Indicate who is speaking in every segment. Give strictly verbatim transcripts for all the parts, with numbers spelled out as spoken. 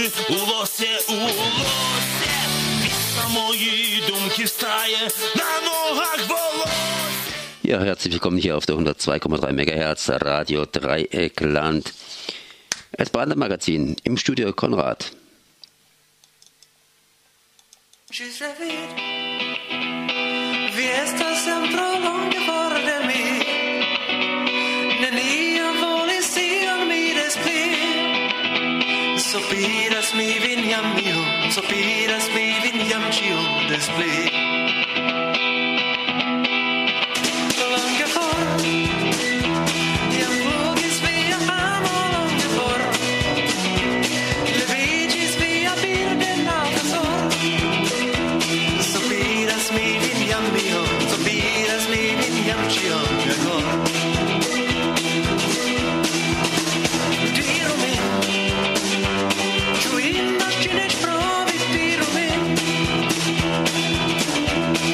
Speaker 1: у лосе, у лосе. Після мої думки встає, на ногах волосся.
Speaker 2: Ja, herzlich willkommen hier auf der hundertzwei Komma drei Megahertz Radio Dreieckland. Das Brandemagazin im Studio Konrad.
Speaker 3: Sopiras mi vinyam mio, sopiras mi vinyam chio display. Långt för, jag vågis via amo långt för. Levigis via bilden av en sorg. Sopiras mi vinyam mio, sopiras mi vinyam chio display. Čujem naš čineš pravi piromen.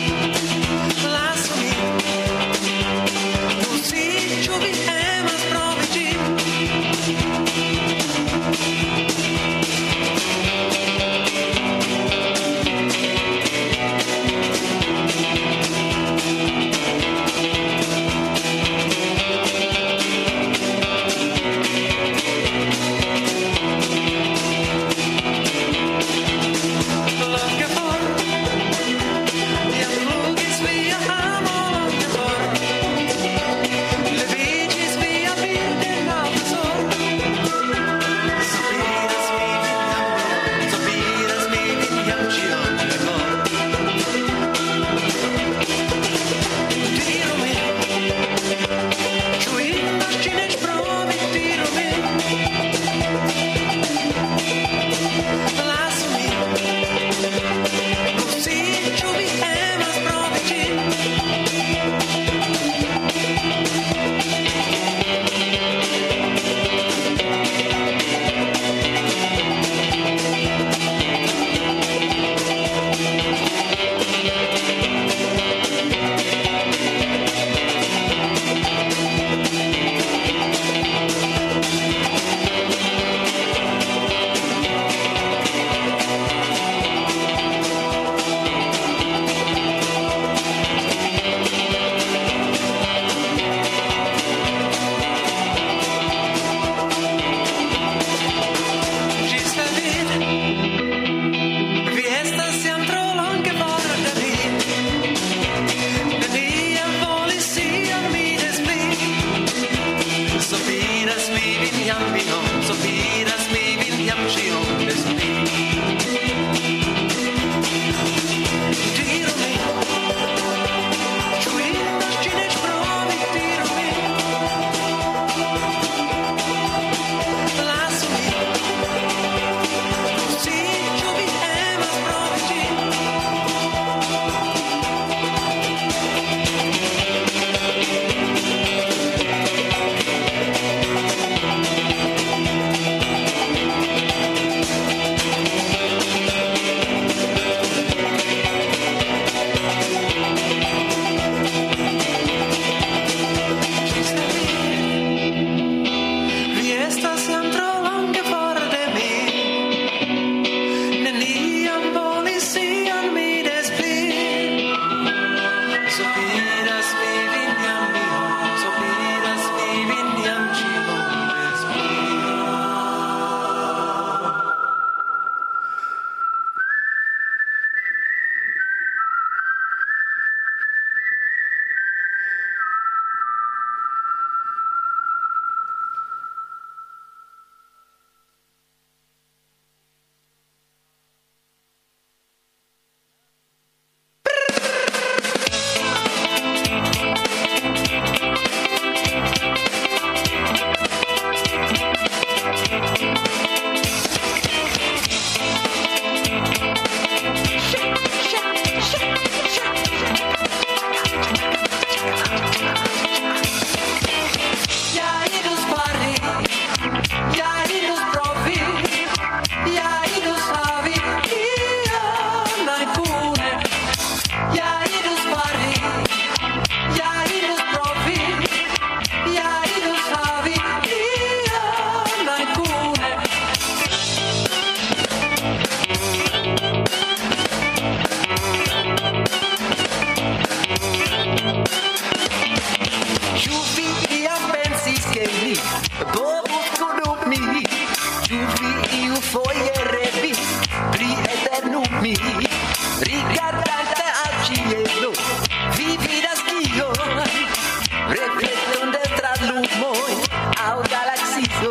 Speaker 3: foglierevi, pri eternumi, ricordante al cielo, vivi da schio, reflettonde tra l'umoi, au galaxio.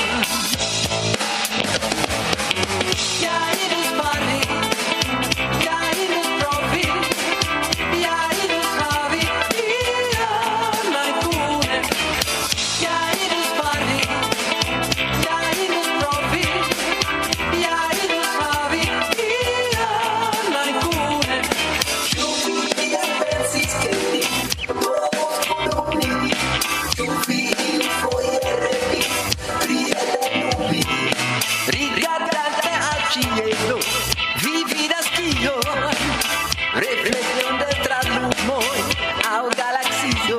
Speaker 3: Jairus pari, Jairus provi, Jairus havi, ia naikune. Jairus pari, Jairus provi, Jairus havi, ia naikune. Giuvi e pensis che ti, povos columni, giuvi il foglierevi, pri eternumi. Ricordante al cielo, vivi da schio, reflettonde tra l'umoi, au galaxio.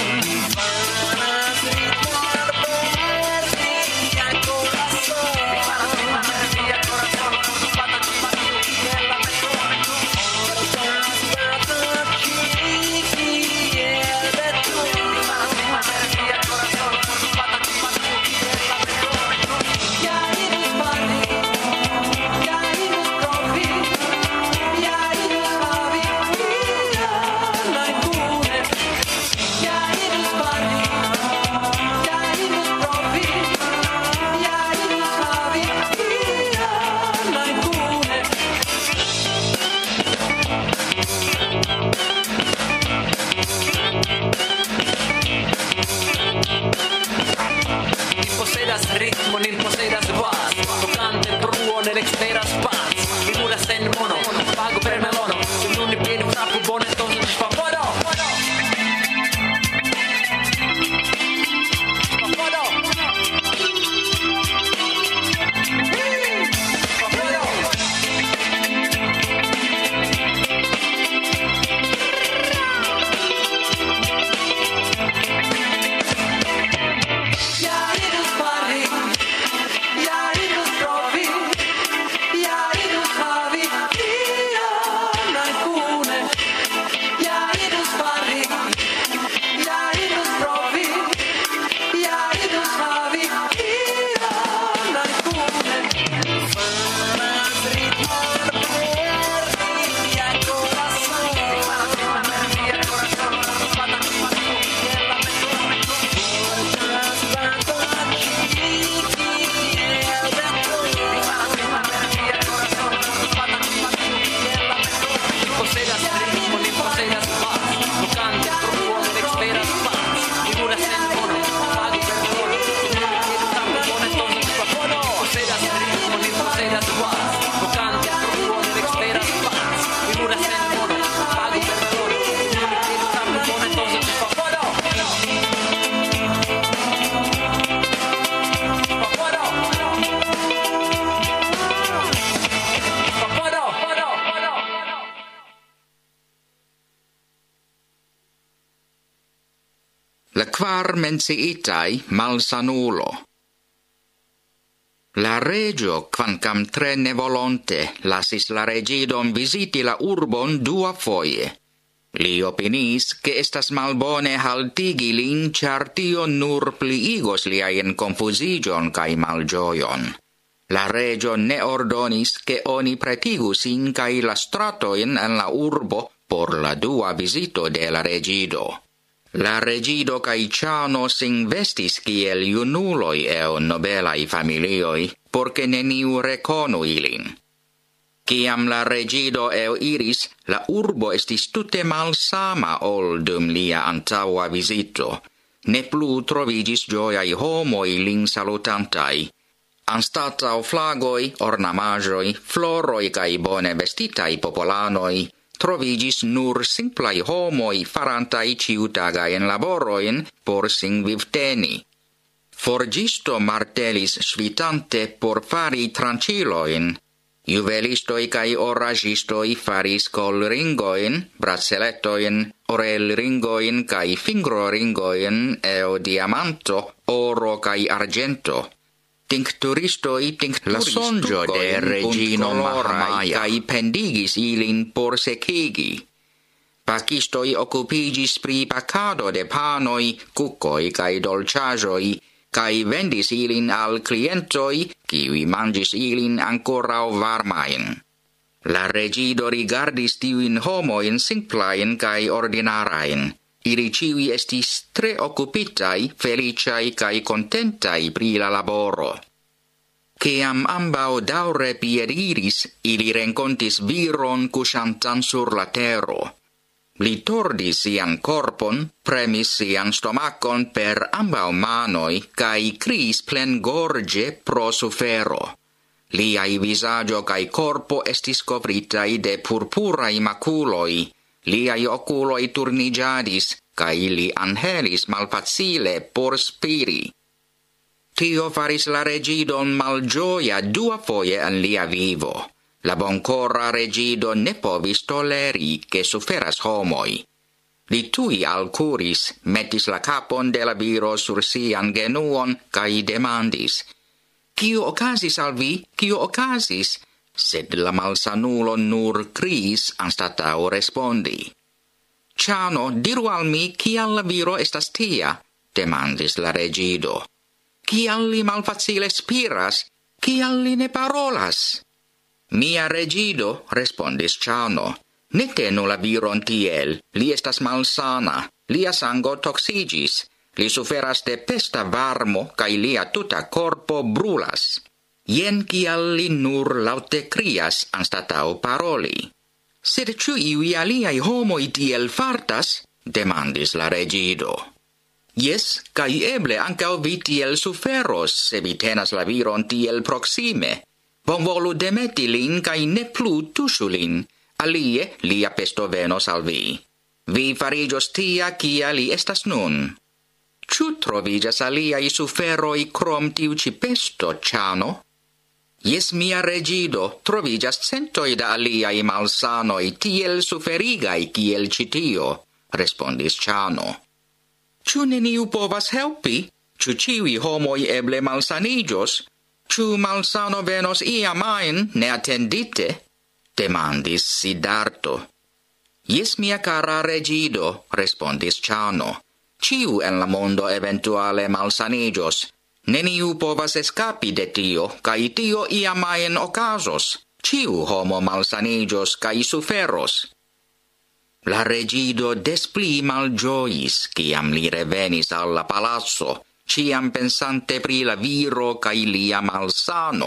Speaker 3: Ritmo, nin posedas vas, tocante bruo nell'exteras paz, figuras en mono, pago per melono, se non ne pieni frappo buono, entonces favoro, favoro.
Speaker 4: La quar menciitai malsanulo. La regio, quancam tre nevolonte, lasis la regidon visiti la urbon dua foie. Li opinis che estas malbone haltigi lin, char tio nur pliigos liaen confusigion cae malgioion. La regio ne ordonis che oni pretigu sin cae la stratoin en la urbo por la dua visito de la regido. La regido cae ciano sin vestis kiel junuloi eo nobelai familioi, porce neniu reconu ilin. Ciam la regido eo iris, la urbo estis tute malsama ol dum lia antaua visito. Ne plu trovigis gioiai homoi lin salutantai. Anstatau flagoi, ornamajoi, floroi cae bone vestitai popolanoi, trovigis nur simplai homoi farantai ciutagaen laboroin por sin vivteni. Forgisto martelis svitante por fari tranciloin, juvelistoi cae oragistoi faris colringoin, braceletoin, orelringoin cae fingroringoin eo diamanto, oro cae argento. Tincturistoi tincturis la sonjo de regino Mahamaya cae pendigis ilin por secigi. Pacistoi occupigis pri pacado de panoi, cucoi cae dolciagioi, kai vendis ilin al clientoi, kiui mangis ilin ancorau varmain. La regido rigardis tiuin homoin simplain kai ordinarain. Ili ciui estis tre occupitai, feliciai kai contentai pri la laboro. Ciam ambau daure piediris, ili rencontis viron cusantan sur la tero. Li tordis sian corpon, premis sian stomacon per ambau manoi, cae cris plen gorge pro sufero. Liai visagio cae corpo estis covritai de purpurai maculoi, liai oculoi turnigiadis, cae li anhelis malfacile por spiri. Tio faris la regidon malgioia dua foie en lia vivo. La boncora regido ne povis toleri che suferas homoi. Li tui alcuris, metis la capon de la viro sur sian genuon, cae demandis, «Cio ocasis al vi? Cio ocasis?» Sed la malsanulo nur cris anstatau respondi. «Ciano, diru al mi, cial la viro estas tia?» demandis la regido. «Cial li malfacile spiras? Cial li ne parolas?» «Mia regido», respondis Ciano, «ne tenu la viron tiel, li estas malsana, lia sango toxigis, li suferas de pesta varmo, cae lia tuta corpo brulas. Jen cial li nur laute crias anstatau paroli.» «Sed ciu iui aliai homoi tiel fartas?» demandis la regido. «Yes, cae eble ancau vi tiel suferos, se vi tenas la viron tiel proxime. Bonvolu demeti lin, cae ne plu tuŝu lin, alie lia pesto venos al vi. Vi fariĝos tia, kia li estas nun. Ĉu troviĝas aliaj suferoj krom tiu ĉi pesto, Ciano?» «Jes, mia regido, troviĝas centoj da aliaj malsanoj tiel suferigaj kiel ĉi tio», respondis Ciano. «Ĉu neniu povas helpi? Ĉu ĉiuj homoj eble malsaniĝos? Ĉu malsano venos iam ajn neatendite?» demandis Siddharto. «Jes, mia cara regido», respondis Ciano. «Ciu en la mondo eventuale malsaniĝos. Neniu povas escapi de tio, cae tio iam ajn okazos. Ciu homo malsaniĝos cae suferos.» La regido des pli malgiois, ciam li revenis al la palazzo, ciam pensante pri la viro cae lia malsano.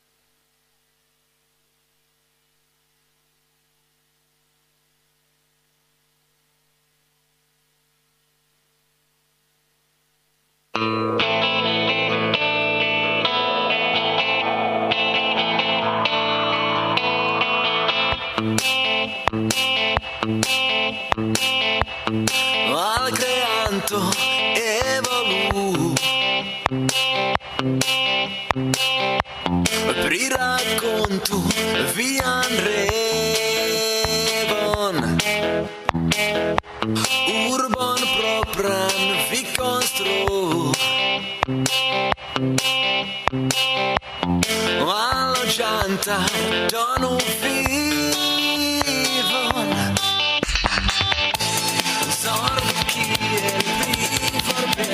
Speaker 1: Al creanto evolu pri raccontu vian revon urbon propran vi constru alloggianta donu vivon sorgo kiel vi forbe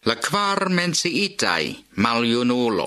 Speaker 4: la kvar menciitai maljunulo.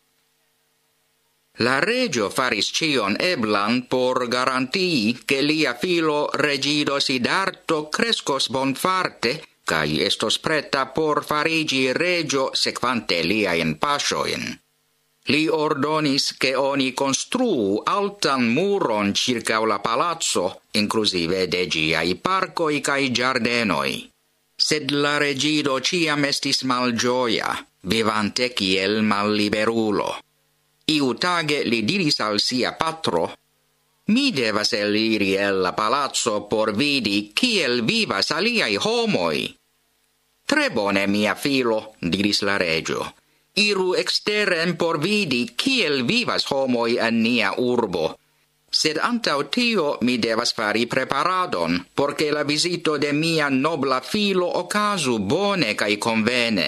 Speaker 4: La regio faris cion eblan por garantii che lia filo regido Siddhartho crescos bonfarte kai estos preta por farigi regio sequante liaen pasioin. Li ordonis che oni construu altan muron circa la palazzo, inclusive de giai parcoi cae giardenoi. Sed la regido ciam estis malgioia, vivante kiel malliberulo. Iu tage li diris al sia patro, mi devas eliri el la palazzo por vidi kiel vivas aliai homoi. Tre bone, mia filo, diris la regio. Iru exterem por vidi kiel vivas homoi en nia urbo. Sed antau tio mi devas fari preparadon, porque la visito de mia nobla filo ocasu bone cae convene.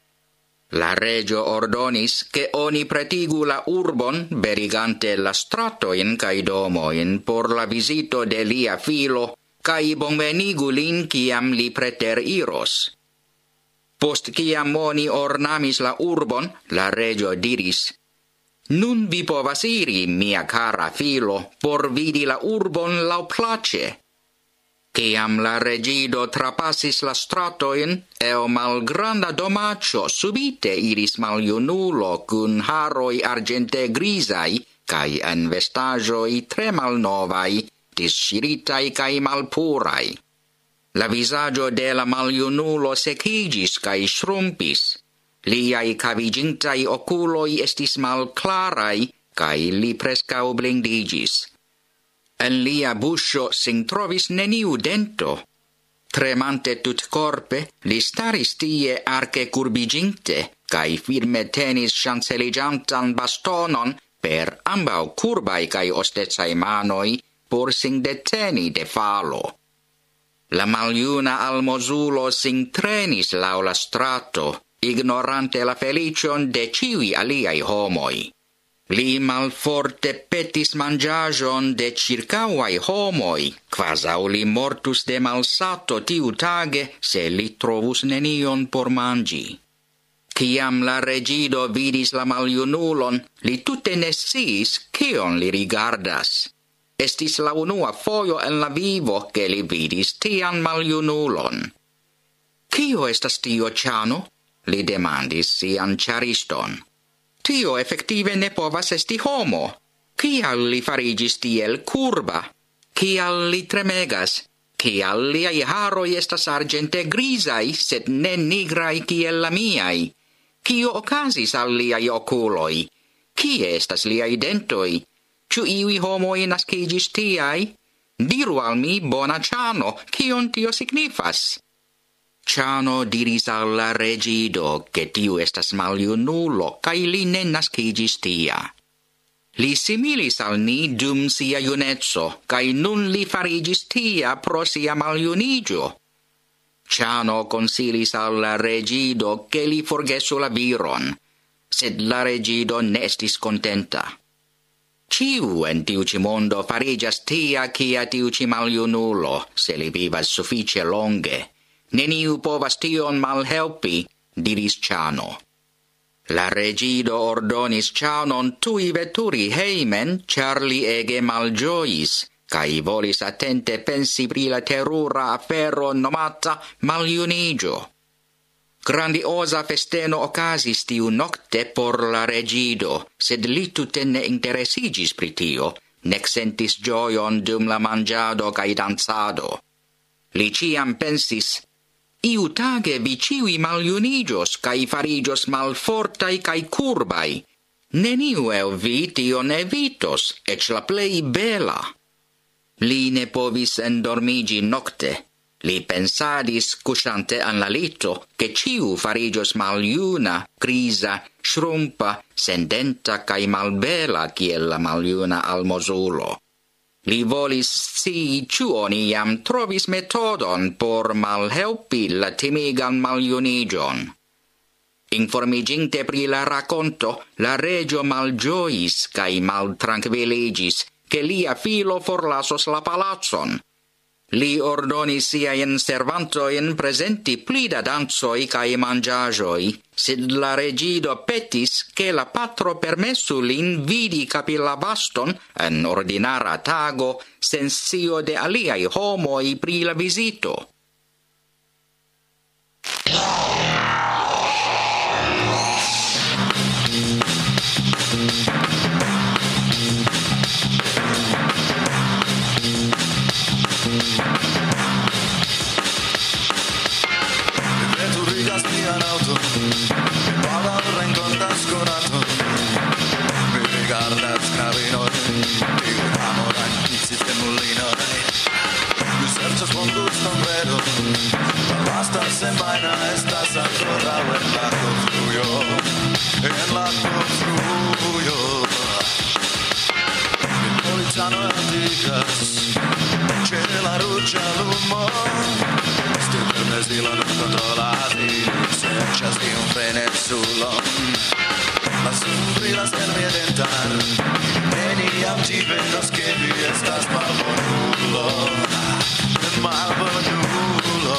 Speaker 4: La regio ordonis che oni pretigu la urbon, berigante la stratoin cae domoin por la visito de lia filo, cae bonvenigu lin ciam li preter iros. Post ciam oni ornamis la urbon, la regio diris, nun vi povas iri, mia cara filo, por vidi la urbon lauplace. Ciam la regido trapassis la stratoin, eo malgranda domacio subite iris maljunulo cun haroi argente grisai, cae en vestagioi tre malnovai, disciritai cae malpurai. La visaggio de la maljunulo secigis cae shrumpis. Liai cavigintai oculoi estis malclarai, cae li prescau blindigis. En lia buscio sin trovis neniu dento. Tremante tut corpe, li staris tie arce curbiginte, cae firme tenis chanceligiantan bastonon per ambau curbai cae ostecai manoi, por sin deteni de falo. La maljuna almozulo sin trenis lau la strato, ignorante la felicion de ciui aliai homoi. Li malforte petis mangiagion de circauai homoi, quasau li mortus de malsato tiu tage, se li trovus nenion por mangi. Ciam la regido vidis la maljunulon, li tute ne sciis cion li rigardas. Estis la unua foio en la vivo che li vidis tian maljunulon. Cio estas tio, Ciano? Li demandis sian chariston. Tio effective ne povas esti homo. Cial li farigis tiel curba? Cial li tremegas? Cial liai haroi estas argente grisai, sed ne nigrai kiel la miai? Cio ocasis al liai oculoi? Cie estas liai dentoi? Ciu iui homoi nascigis tiai? Diru al mi, bona Ciano, cion tio signifas? Ciano diris al la regido che tiu estas maljunulo, cae li ne nascigis tia. Li similis al ni dum sia junezzo, cae nun li farigis tia pro sia maljunigio. Ciano consilis al la regido che li forgesu la viron, sed la regido ne estis contenta. Ciu en tiu ci mondo farigas tia cia tiu ci maljunulo, se li vivas suffice longe. Neniu povas tion malhelpi, diris Ciano. La regido ordonis Cianon tui veturi heimen, char li ege malgiois, cae volis attente pensi pri la terura afero nomata maljunigio. Grandiosa festeno ocasis tiu nocte por la regido, sed li tute ne interesigis pri tio, nec sentis gioion dum la mangiado cae danzado. Li ciam pensis, iu tage vi ciui maljunigios cae farigios malfortai cae curbai. Neniu el vi tion evitos, ec la plei bela. Li ne povis endormigi nocte. Li pensadis, cusante an la lito, che ciu farigios maljuna, grisa, shrumpa, sendenta cae malbela kiel la maljuna almozulo. Li volis scii ciu oni iam trovis metodon por malhelpi la timigan maljunigion. Informiginte pri la raconto, la regio malgiois cae maltranquilligis, che lia filo forlasos la palazzon. Li ordonis siain servantoin presenti pli da danzoi cae mangiagioi, sed la regido petis che la patro permessu lin vidi capilla baston en ordinara tago sensio de aliai homoi pri la visito.
Speaker 1: Veturigas mian auto, mi pagan rencontas con auto. Mi rigardas knabinoi, tiu amoran insiste mulinoi. Mi serĉas bonguston bredo, la lasta semajna estas ankoraŭ en la konstrujo, en la konstrujo. Mi policano antigas, ĉe la ruĝa lumo. Silon controlati, serĉas tiun frenezulon. La sun brilas en mia dentar, neniam ci vendos che vi estas malbonulo, malbonulo.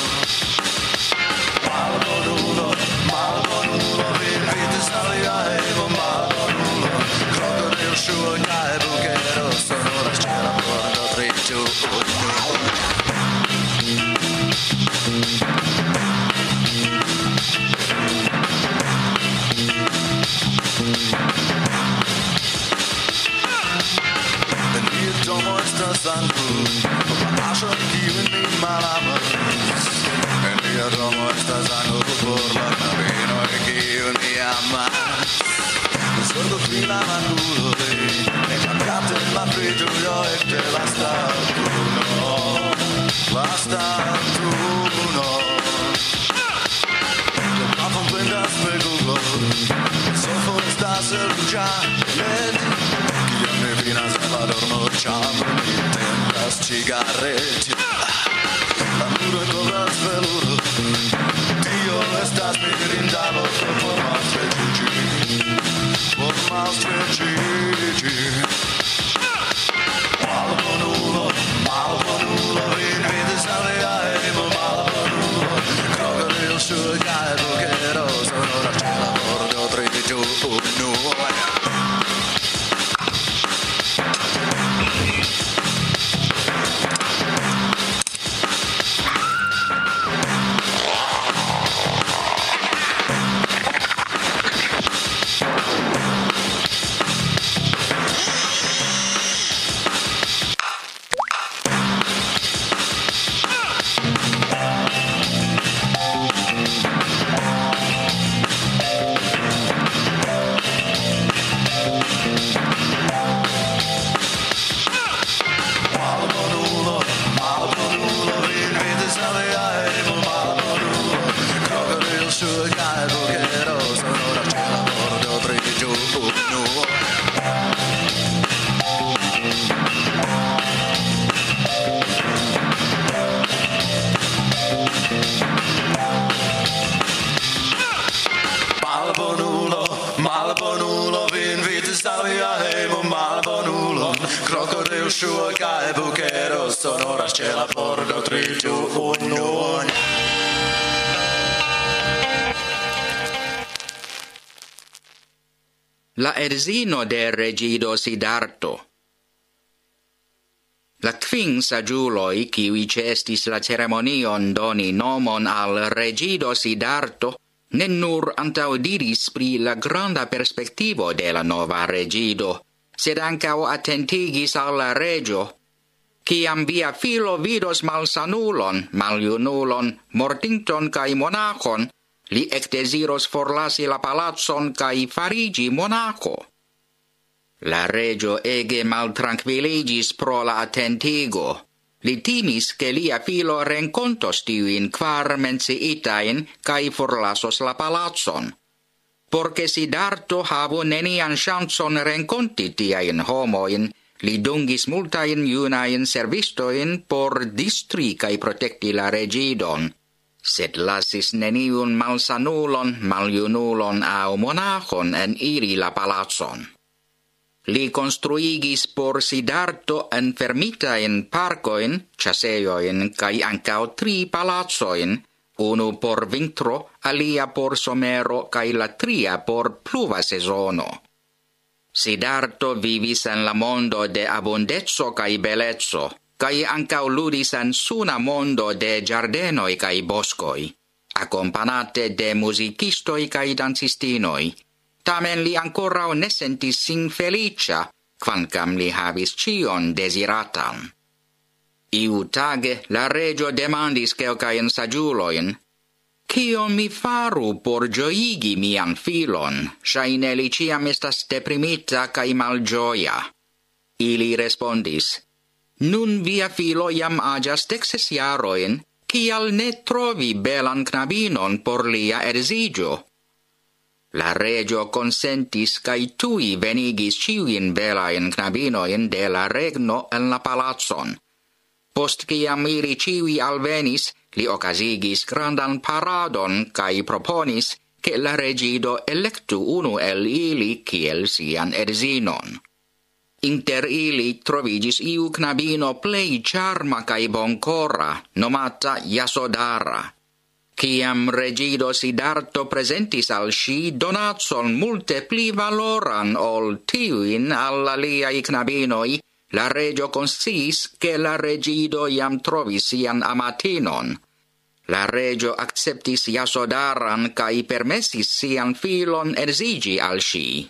Speaker 1: Malbonulo, malbonulo, vi vidas alia evo malbonulo. Krokodil ŝuoj kaj bukero sonoras ĉe la pordo tri ĉu unu. En mia domo estas ankaŭ aĵo kiun mi malamas. En mia domo estas ankaŭ por la knabinoj kiun mi amas. Zorgo pri la makuloj, ekapjate la fritujo ekde la statuno. La statuno. La pafon plendas per Google, sofo estas ruĝa led. Kiam mi finas en la dormoĉambro, mi tendas cigareti. La muroj kovras veluro, tio estas mirinda loko por malstreĉiĝi, por malstreĉiĝi. Malbonulo, malbonulo, vin vidas alia evo malbonulo. Krokodil ŝuoj kaj bukero sonoras ĉe la pordo tri ĉu unu. Malbonulo, vin vidas alia hejmo malbonulo. Krokodil ŝuoj kaj bukero sonoras ĉe la pordo tri ĉu unu.
Speaker 4: La edzino de regido Siddharto. La kvin saĝuloj, kiuj ĉeestis la ceremonion doni nomon al regido Siddharto, ne nur antaŭdiris pri la granda perspektivo de la nova regido, sed ankaŭ atentigis al la reĝo: kiam via filo vidos malsanulon, maljunulon, mortinton kaj monaĥon, li ekdeziros forlasi la palacon kaj fariĝi monaĥo. La reĝo ege maltrankviliĝis pro la atentigo. Li timis che lia filo renkontos tiujn kvar menciitajn kaj forlasos la palacon. Por ke Siddharto havu nenian ŝancon renkonti tiajn homojn, li dungis multajn junajn servistojn por distri kaj protekti la reĝidon, sed lasis neniun malsanulon, maljunulon aŭ monaĥon eniri la palacon. li construigis por Siddharto enfermitain parcoin, chaseioin, cae ancao tri palazzoin, unu por vintro, alia por somero, cae la tria por pluva sezono. Siddharto vivis en la mondo de abundezzo cae bellezzo, cae ancao ludis en suna mondo de giardenoi cae boscoi, accompagnate de musicistoi cae dancistinoi. Tamen li ancora ne sentis sin felicia, quancam li havis cion desiratan. Iu tage la regio demandis quelcaen sagiuloin, «Cion mi faru por gioigi mian filon, shaine li ciam estas deprimita cae malgioia?» Ili respondis, «Nun via filo jam agias dexes jaroin, cial ne trovi belan knabinon por lia edzigio?» La regio consentis cae tui venigis ciuin belain knabinoin de la regno en la palazzon. Post ciam ili ciui alvenis, li ocasigis grandan paradon cae proponis che la regido electu unu el ili kiel sian edzinon. Inter ili trovigis iu knabino plei charma cae boncora, nomata Yasodhara. Ciam regido Siddharto presentis al si donatson multe pli valoran ol tiuin al aliai knabinoi, la regio consciis che la regido iam trovis sian amatinon. La regio acceptis Yasodharan cae permessis sian filon edzigi al si.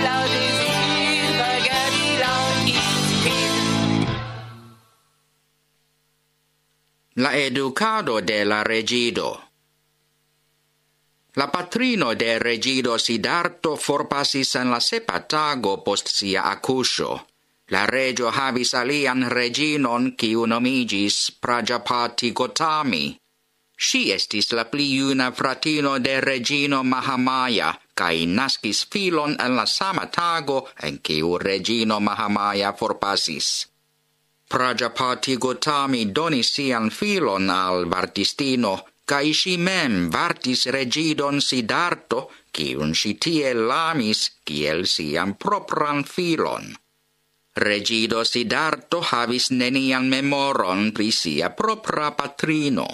Speaker 3: laŭ dezir, vagadi laŭ inspir.
Speaker 4: La educado de la regido. La patrino de regido Siddhartho forpasis en la sepa tago post sia accusio. La regio havis alian reginon kiu nomigis Prajapati Gotami. Si estis la pli juna fratino de regino Mahamaya, kai naskis filon en la sama tago en kiu regino Mahamaya forpasis. Prajapati Gotami donis sian filon al vartistino, kai si mem vartis regidon Siddhartho, kiun si tiel amis kiel sian propran filon. Regido Siddhartho havis nenian memoron pri sia propra patrino.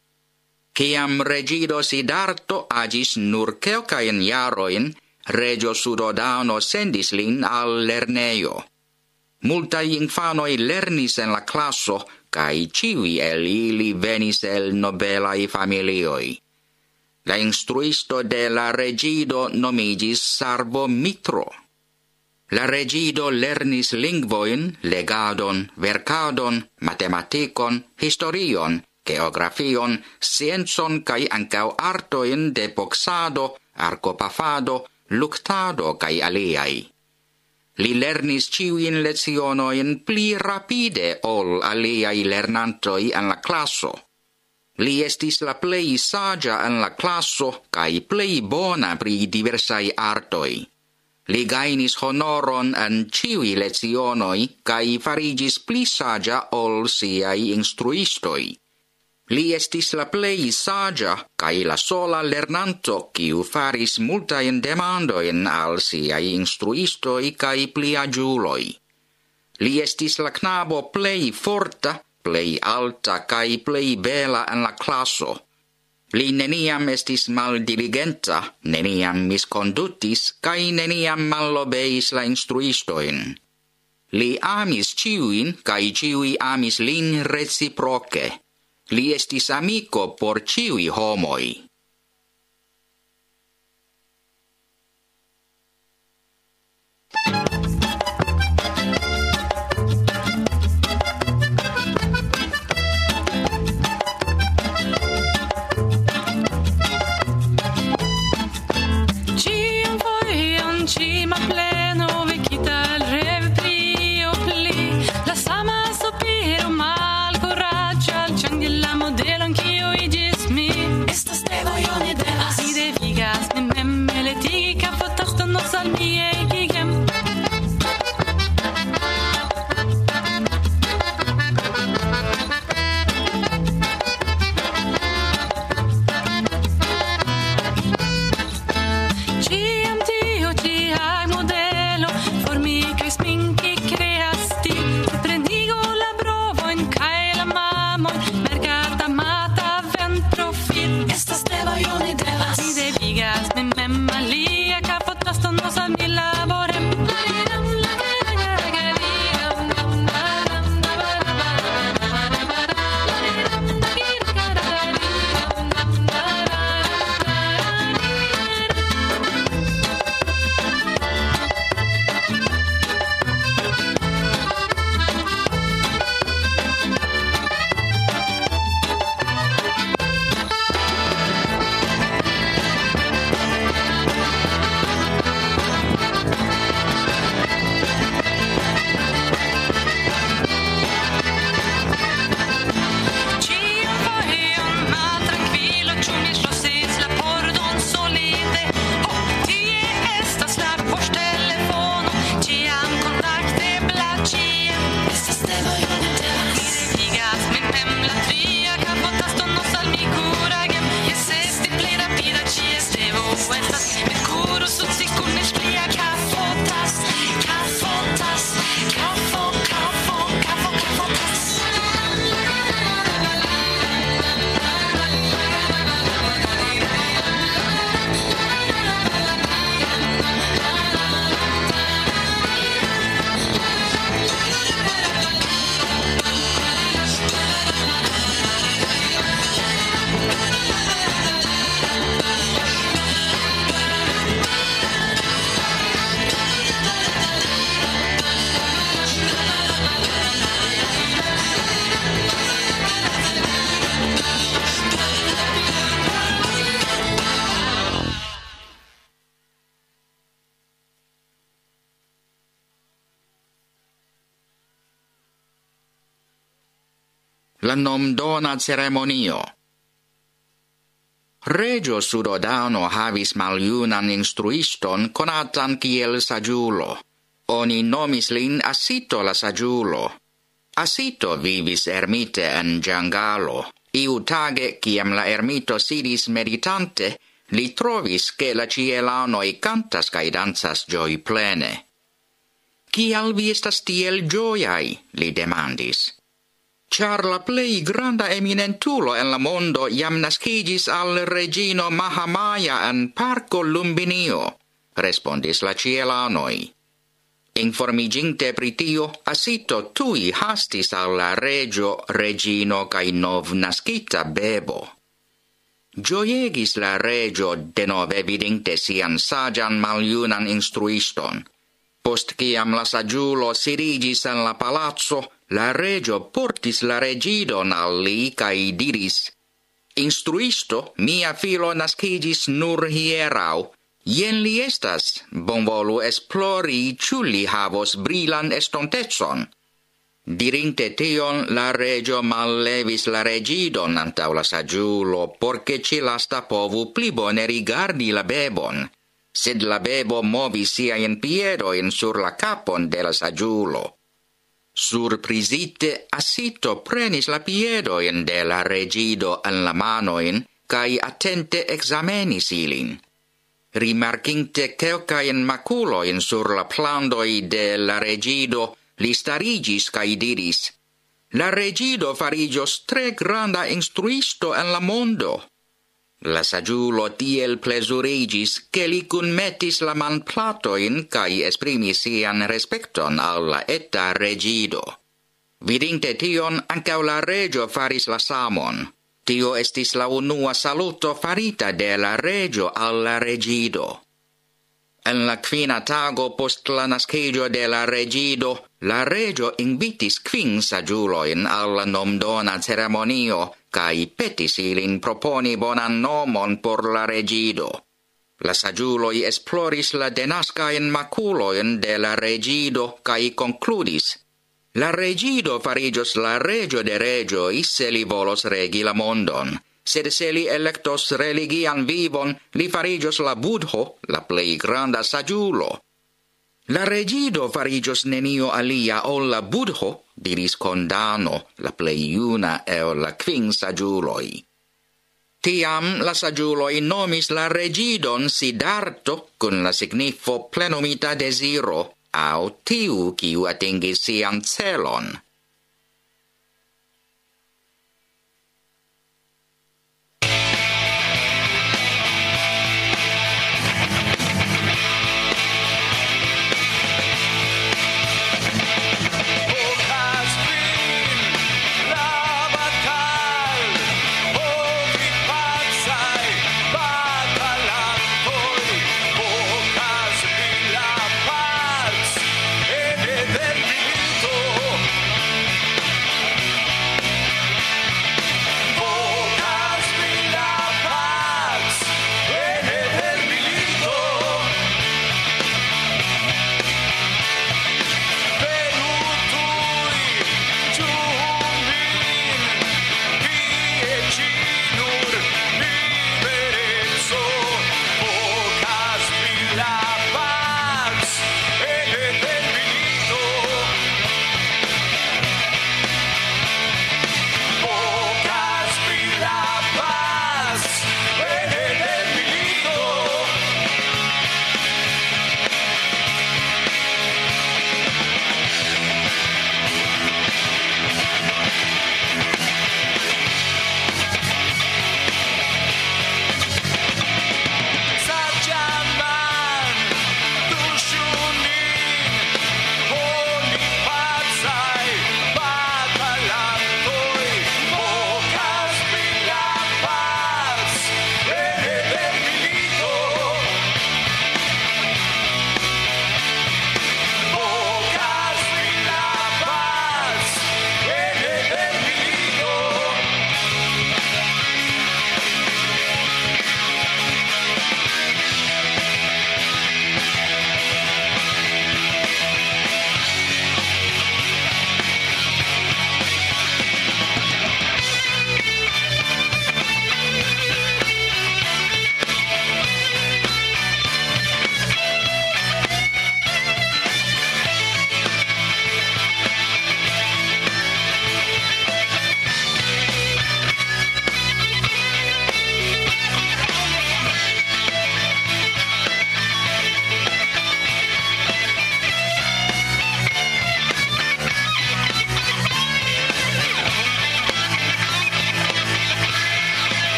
Speaker 4: Kiam regido Siddhartho agis nur kelkajn jarojn, regio Suddhodana sendis lin al lernejo. Multaj infanoj lernis en la klaso, kaj ĉiuj el ili venis el nobelaj familioj. La instruisto de la regido nomigis Sarvo Mitro. La regido lernis lingvojn, legadon, verkadon, matematikon, historion, geografion, sciencon kaj ankaŭ artojn de boksado, arkopafado, luktado kaj aliaj. Li lernis ĉiujn lecionojn pli rapide ol aliaj lernantoj en la klaso. Li estis la plej saĝa en la klaso kaj plej bona pri diversaj artoj. Li gajnis honoron en ĉiuj lecionoj kaj fariĝis pli saĝa ol siaj instruistoj. Li estis la plej saĝa kaj la sola lernanto kiu faris multajn demandojn al siaj instruistoj kaj pliaĝuloj. Li estis la knabo plej forta, plej alta kaj plej bela en la klaso. Li neniam estis maldiligenta, neniam miskondutis kaj neniam malobeis la instruistojn. Li amis ĉiujn kaj ĉiuj amis lin reciproke. Li estis amiko por ĉiuj homoj.
Speaker 5: Estas te voglio ne devas. Mi mem malia capo tosto non sa mi lavo.
Speaker 4: la nomdona ceremonio. Regio Sudodano havis maljunan instruiston konatan kiel saĝulo. Oni nomis lin Asito la saĝulo. Asito vivis ermite en ĝangalo. Iu tage, kiam la ermito sidis meditante, li trovis che la ĉielanoj kantas kaj dancas ĝojplene. Kial vi estas tiel ĝojaj? Li demandis. Ĉar la plej granda eminentulo en la mondo jam naskiĝis al reĝino Mahamaja en parko Lumbinio, respondis la ĉielanoj. Informiginte pri tio, Asito tui hastis al la regio, regino kaj novnaskita bebo. Ĝojegis la regio denove vidinte sian saĝan maljunan instruiston. Post kiam la saĝulo sidiĝis en la palaco, la regio portis la reĝidon al li kaj diris: Instruisto, mia filo naskiĝis nur hieraŭ. Jen li estas, bonvolu esplori, ĉu li havos brilan estontecon. Dirinte tion, la regio mallevis la reĝidon antaŭ la saĝulo, por ke ĉi lasta povu pli bone rigardi la bebon. Sed la bebo movis siajn piedojn sur la kapon de la saĝulo. Surprizite, Asito prenis la piedojn de la reĝido en la manojn kaj atente ekzamenis ilin. Rimarkinte kelkajn makulojn sur la plandoj de la reĝido, li stariĝis kaj diris: La reĝido fariĝos tre granda instruisto en la mondo. La saĝulo tiel plezuriĝis, ke li kunmetis la manplatojn kaj esprimis sian respekton al la eta reĝido. Vidinte tion, ankaŭ la reĝo faris la samon. Tio estis la unua saluto farita de la regio al la reĝido. En la kvina tago post la naskiĝo de la reĝido, la regio invitis kvin saĝulojn al la nomdona ceremonio kaj petis ilin proponi bonan nomon por la reĝido. La saĝuloj esploris la denaskajn makulojn de la reĝido kaj konkludis: La reĝido fariĝos la reĝo de reĝoj se li volos regi la mondon, sed se li elektos religian vivon, li fariĝos la Budho, la plej granda saĝulo. La reĝido fariĝos nenio alia ol la Budho, diris Kondano, la plej juna el la kvin saĝuloj. Tiam la saĝuloj nomis la reĝidon Siddharto kun la signifo plenumita deziro, aŭ tiu, kiu atingis sian celon.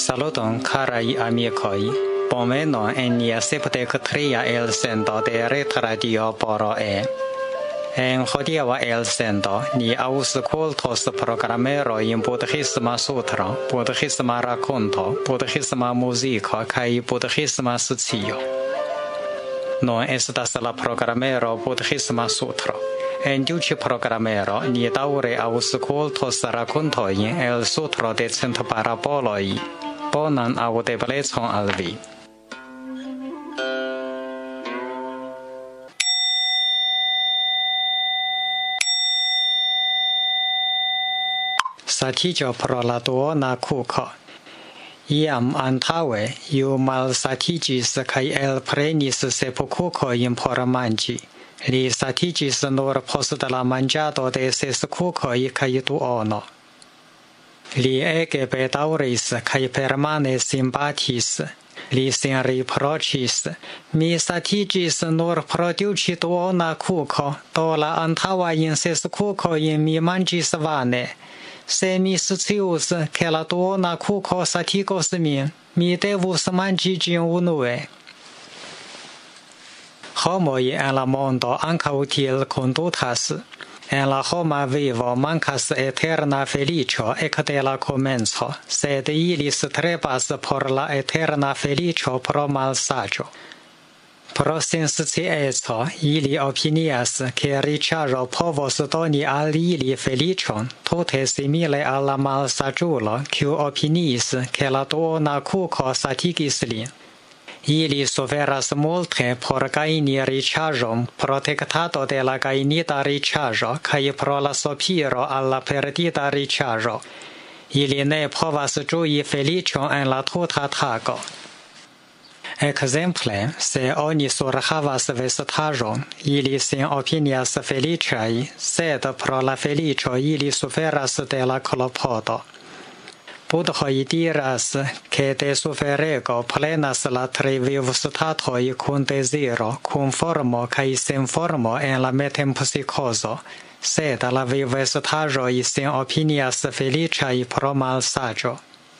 Speaker 5: Saluton carai amicoi, pomeno enia septec tria el sendo de ret radio poro e. En hodiava el sendo ni auscultos programero in Buddhisma Sutra, Buddhisma racconto, Buddhisma musica kai Buddhisma socio. Non estas la programero Buddhisma Sutra. En diuci programero ni daure auscultos raccontoin el Sutra de cent paraboloi. Bonan audeblecon al vi. Satigio pro la duona cuco. Iam antaue, iu malsatigis cae elprenis sepulcucoin por mangi. Li satigis nur post la mangiado de ses cucoi cae duono. Li ege bedauris cae permane simbatis. Li sin riprocis. Mi satigis nur pro diuci duona cuco, do la antaua in ses cucoin mi mangis vane. Se mi scius che la duona cuco satigos min, mi devus mangi gin unue. Homoi en la mondo ancau tiel condutas. En la homa vivo mancas eterna felicio ec de la comenzo, sed ilis trebas por la eterna felicio pro malsagio. Pro sensciezo, ili opinias che riĉaĵo povos doni al ili felicion, tute simile al la malsaĝulo, kiu opiniis, ke la duona kuko satigis lin. Ili suferas multe por gajni riĉaĵon, protektado de la gajnita riĉaĵo kaj pro la sopiro al la perdita riĉaĵo. Ili ne povas ĝui felicion en la tuta tago. Exemple, se oni surhavas vestaĵon, ili sin opinias feliciaj, sed pro la felicio ili suferas de la klopodo. Budhoj diras, ke de suferego plenas la tri vivstatoj kun deziro, kun formo kaj sen formo en la metempsikozo, sed la vivstaĵoj sin opinias feliciaj pro malsaĝo.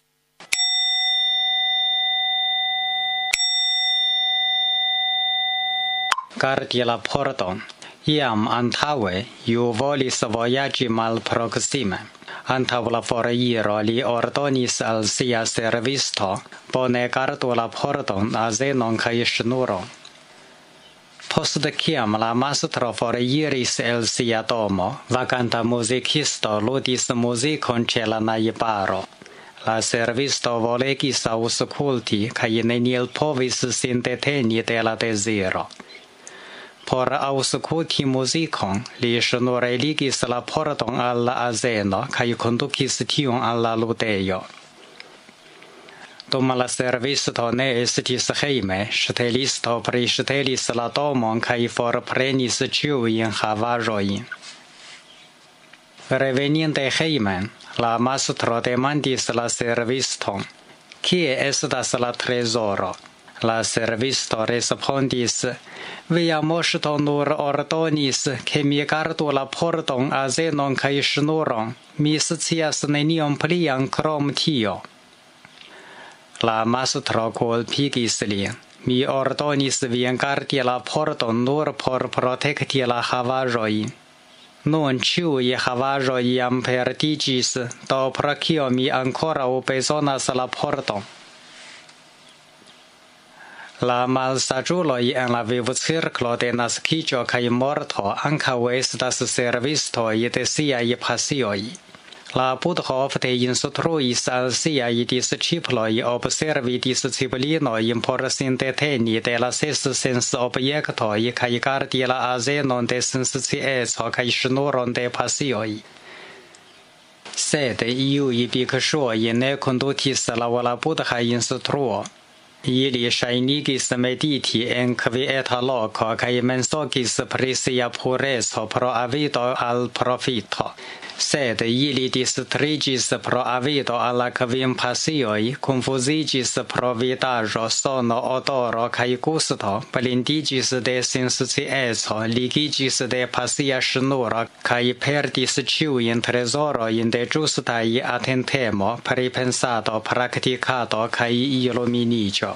Speaker 5: Gardi la pordon. Iam antaue, iu volis voyagi malproksime. Antaŭ la foriro li ordonis al sia servisto, bone gardu la pordon, azenon kaj ŝnuron. Post kiam la mastro foriris el sia domo, vaganta muzikisto ludis muzikon ĉe la najbaro. La servisto volegis aŭskulti kaj neniel povis sin deteni de la deziro. Por aŭskulti muzikon, li ŝnureligis la pordon al la azeno kaj kondukis tiun al la ludejo. Dum la servisto ne estis hejme, ŝtelisto priŝtelis la domon kaj forprenis ĉiujn havaĵojn. Reveninte hejmen, la mastro demandis la serviston, kie estas la trezoro? La servisto respondis, via moŝto nur ordonis, ke mi gardu la pordon, azenon kaj ŝnuron. Mi scias nenion plian krom tio. La mastro kulpigis lin. Mi ordonis vin gardi la pordon nur por protekti la havaĵojn. Nun ĉiuj havaĵoj jam perdiĝis, do pro kio mi ankoraŭ bezonas la pordon? La malsaĝuloj en la vivcirklo de naskiĝo kaj morto ankaŭ estas servistoj de siaj pasioj. La Budho ofte instruis al siaj disĉiploj observi disciplinojn por sin deteni de la ses sensobjektoj kaj gardi la azenon de senscieco kaj ŝnuron de pasioj. Sed iuj bikŝuoj ne kondukis laŭ la Budha instruo. Ili ŝajnigis mediti en kvieta loko kaj mensogis pri sia pureco pro avido al profito. Sed ili distrigis pro avido alla kvin-pasioj, confuzigis pro vidaĵo, sono, odoro kaj gusto, blindigis de senscieco, ligigis de pasia ŝnuro kaj perdis ĉiujn trezorojn de ĝustaj atentemo, pripensado, praktikado kaj iluminiĝo.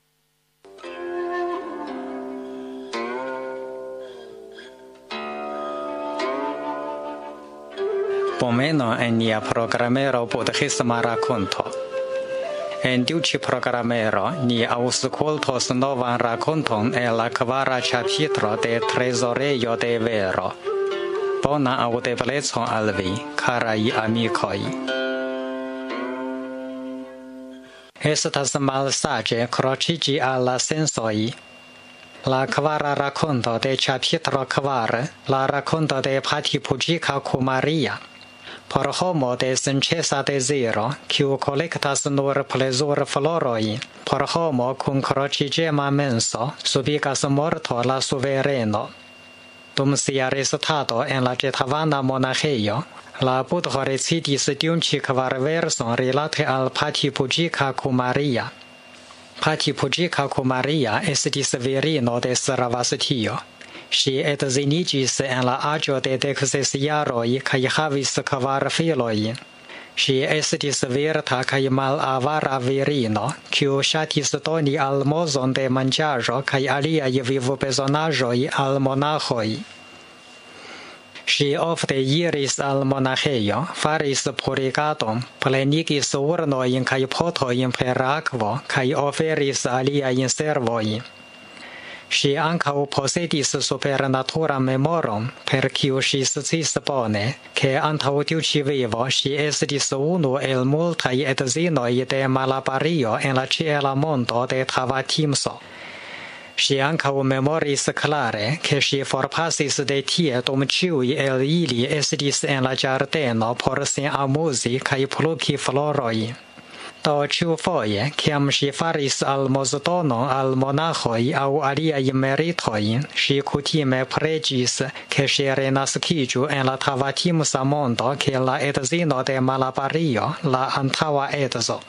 Speaker 5: Pomeno en nia programero budhisma rakonto. En tiu ĉi programero ni aŭskultos novan rakonton el la kvara ĉapitro de Trezorejo de Vero. Bona aŭdeblecon al vi, karaj amikoj. Estas malsaĝe kroĉiĝi al la sensoj. La kvara rakonto de ĉapitro kvar, la rakonto de Patipujika Kumaria. Por homo de senĉesa deziro, kiu kolektas nur plezurflorojn, por homo kun kroĉiĝema menso, subigas morto la suvereno. Dum sia restado en la Jetavana monaĥejo, la Budho recitis tiun ĉi kvar verson rilate al Patipujika Kumaria. Patipujika Kumaria estis virino de Sravastio. Ŝi edziniĝis en la aĝo de dek ses jaroj kaj havis kvar filojn. Ŝi estis virta kaj malavara virino, kiu ŝatis doni almozon de manĝaĵo kaj aliaj vivbezonaĵoj al monaĥoj. Ŝi ofte iris al monaĥejo, faris purigadon, plenigis urnojn kaj potojn per akvo kaj oferis aliajn servojn. Ŝi ankaŭ posedis supernaturan memoron, per kiu ŝi sciis bone, ke antaŭ tiu ĉi vivo ŝi estis unu el multaj edzinoj de Malabario en la ĉiela mondo de Tavatimso. Ŝi ankaŭ memoris klare, ke ŝi forpasis de tie dum ĉiuj el ili estis en la ĝardeno por sin amuzi kaj pluki florojn. Do ĉiufoje, kiam ŝi faris almozdonon al monaĥoj aŭ aliaj meritoj, ŝi kutime preĝis, ke ŝi renaskiĝu en la Tavatimsa mondo kiel la edzino de Malabario, la antaŭa edzo.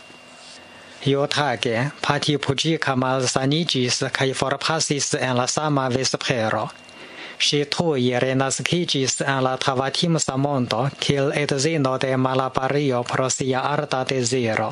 Speaker 5: Iutage, Patipujika malsaniĝis kaj forpasis en la sama vespero. Ŝi tuj renaskiĝis en la Tavatimsa mondo kiel edzino de Malabario pro sia arda deziro.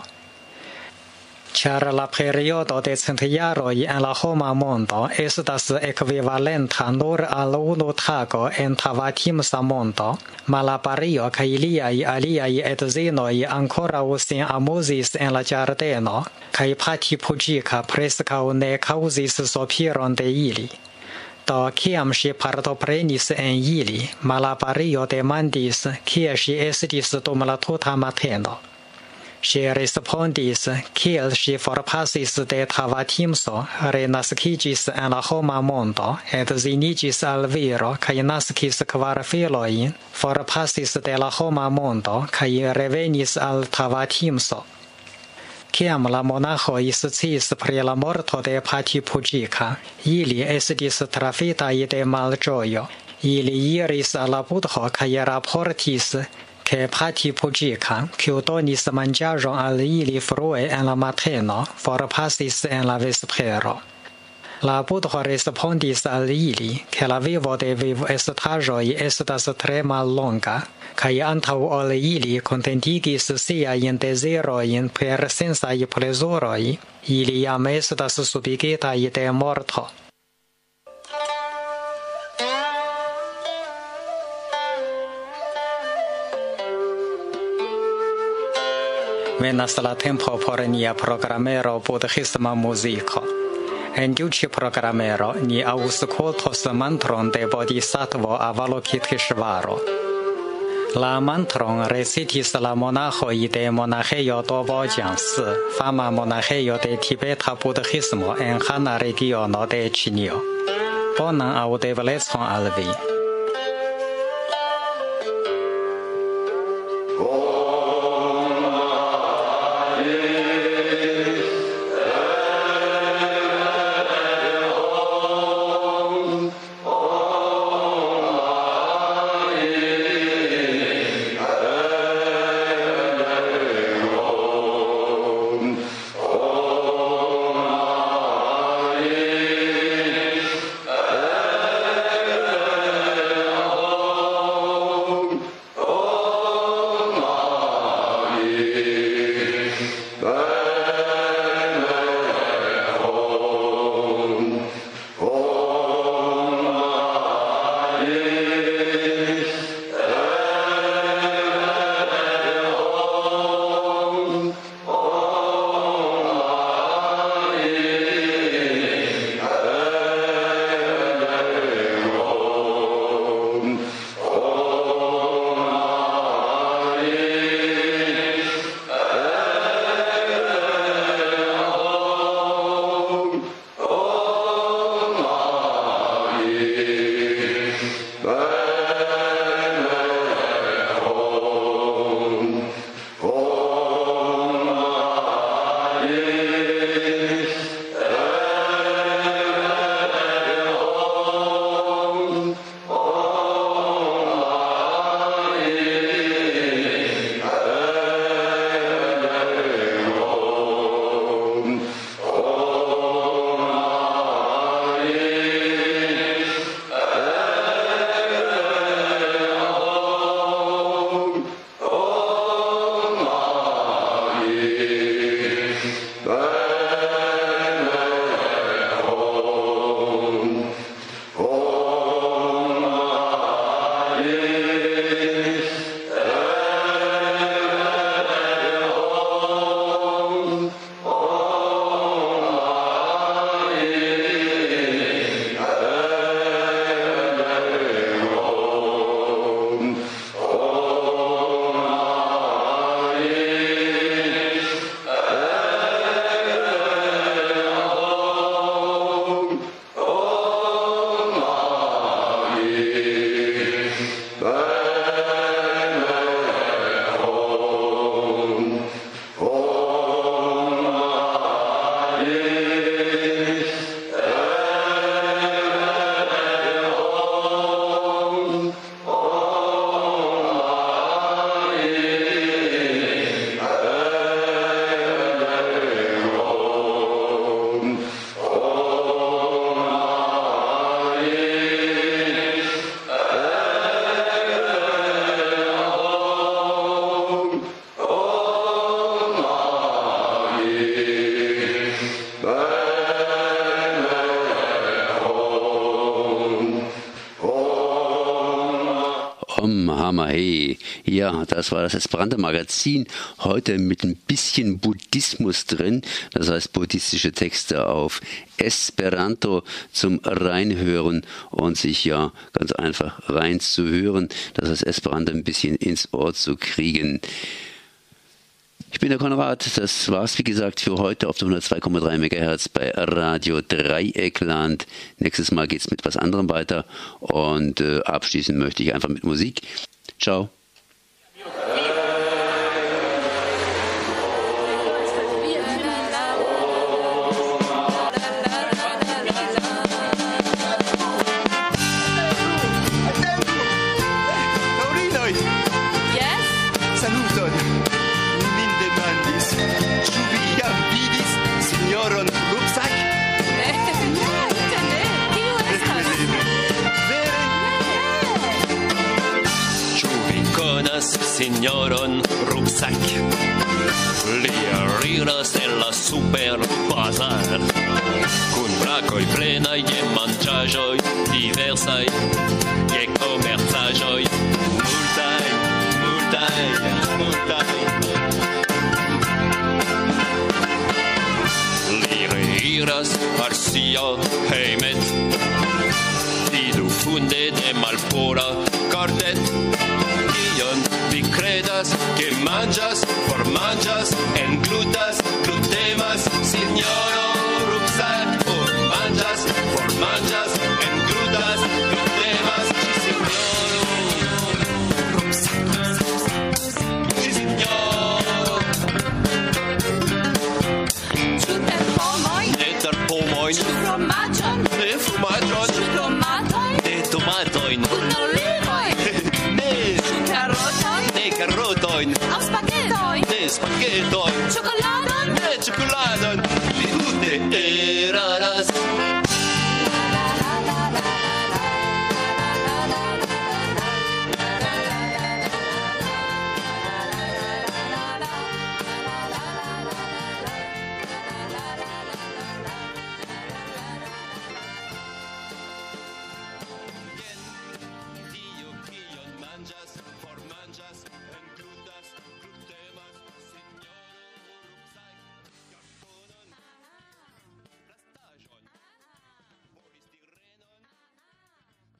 Speaker 5: Ĉar la periodo de cent jaroj en la homa mondo estas ekvivalenta nur al unu tago en Tavatimsa mondo, Malabario kaj liaj aliaj edzinoj ankoraŭ sin amuzis en la ĝardeno, kaj Patipujika preskaŭ ne kaŭzis sopiron de ili. Do kiam ŝi partoprenis en ili, Malabario demandis, kie ŝi estis dum la tuta mateno. Ŝi respondis, kiel ŝi forpasis de Tavatimso, renaskiĝis en la homa mondo, edziniĝis al viro kaj naskis kvar filojn, forpasis de la homa mondo kaj revenis al Tavatimso. Kiam la monaĥoj sciis pri la morto de Patipujika, ili estis trafitaj de malĝojo. Ili iris al la Budho kaj raportis, ke Patipujika, kiu donis manĝaĵon al ili frue en la mateno, forpasis en la vespero. La Budho respondis al ili, ke la vivo de vivestaĵoj estas tre mallonga, kaj antaŭ ol ili kontentigis siajn dezirojn per sensaj plezuroj, ili jam estas subigitaj de morto. Venas la tempo por nia programero budhisma muziko. En tiu ĉi programero ni aŭskultos mantron de Bodhisattvo Avalokiteshvaro. La mantron recitis la monaĥoj de monaĥejo Dobojiang-si, fama monaĥejo de tibeta budhismo en Hana regiono de Ĉinio. Bonan aŭdeblecon al vi.
Speaker 2: Hey, ja, das war das Esperanto-Magazin. Heute mit ein bisschen Buddhismus drin, das heißt buddhistische Texte auf Esperanto zum Reinhören und sich ja ganz einfach reinzuhören, das heißt Esperanto ein bisschen ins Ohr zu kriegen. Ich bin der Konrad, das war's wie gesagt für heute auf der hundertzwei Komma drei Megahertz bei Radio Dreieckland. Nächstes Mal geht's mit was anderem weiter und äh, abschließen möchte ich einfach mit Musik. Ciao.
Speaker 6: Signoron Rucksack, li arriras en la super bazar, kun brakoj plenaj je manĝaĵoj diversaj, je komercaĵoj multaj, multaj, multaj. Li reiras al sia hejmet, vidu funde de malpura kartet. Vi credas que manchas por manchas, englutas, glutemas, signoro rucksack, por manchas por manchas, englutas, glutemas, signoro rucksack, signoro. Super pomoin, neter pomoin, fromagion, ne fromagion, tomatoin, ne tomatoin, kun olivoi. Karotoin, auf Spaghettoin, ne Spaghettoin, Schokoladon, ne Schokoladon.